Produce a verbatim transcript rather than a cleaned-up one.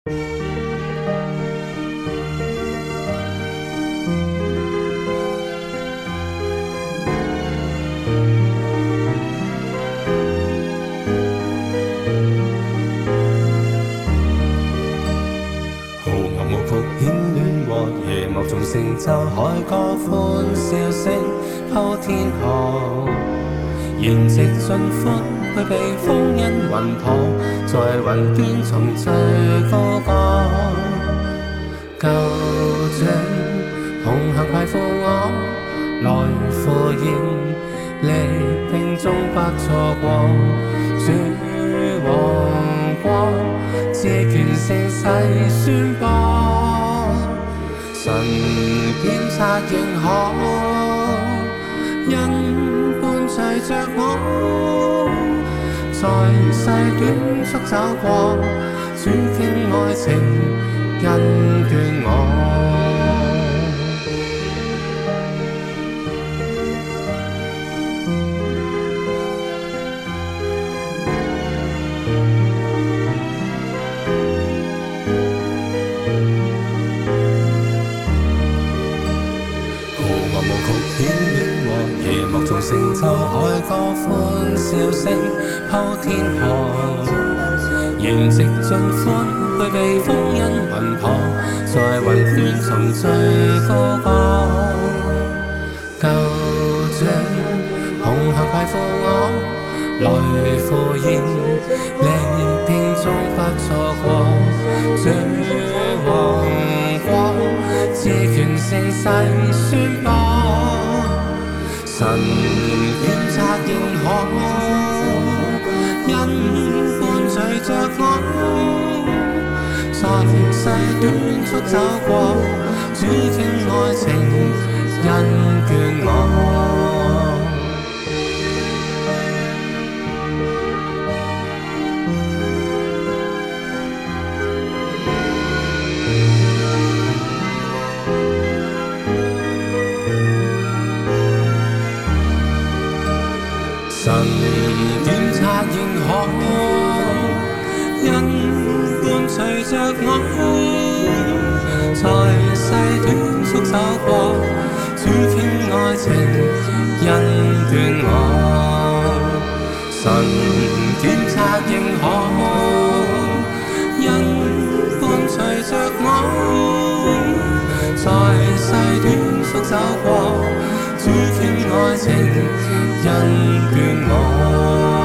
豪牛木曲顯戀和夜幕中成就海歌歡笑聲鋪天河，筵席盡歡去避風因雲破，在雲端從最高歌。舊像同行攜負我，來赴宴，力拼終不錯過。主王國，自權盛世宣播，神檢察認可，因伴隨着我，在世短促走過，主傾愛情，恩眷我。顯戀和夜幕中成就海歌歡笑聲鋪天河，筵席盡歡去避風因雲破，在雲端從最高歌。舊像同行攜負我，來赴宴，力拼終不錯過。主王國，自權盛世宣播，神檢察認可，因伴隨着我，在世短促走過，主傾愛情，恩眷我。神檢察認可，因伴隨着我，在世短促走過，主傾愛情，恩眷我。神檢察認可，因伴隨着我，在世短促走過，主傾愛情，恩眷我。